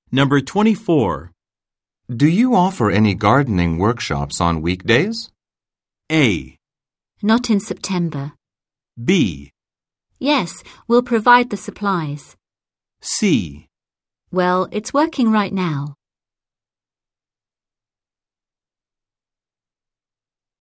Number 24. Do you offer any gardening workshops on weekdays? A. Not in September. B. Yes, we'll provide the supplies. C. Well, it's working right now.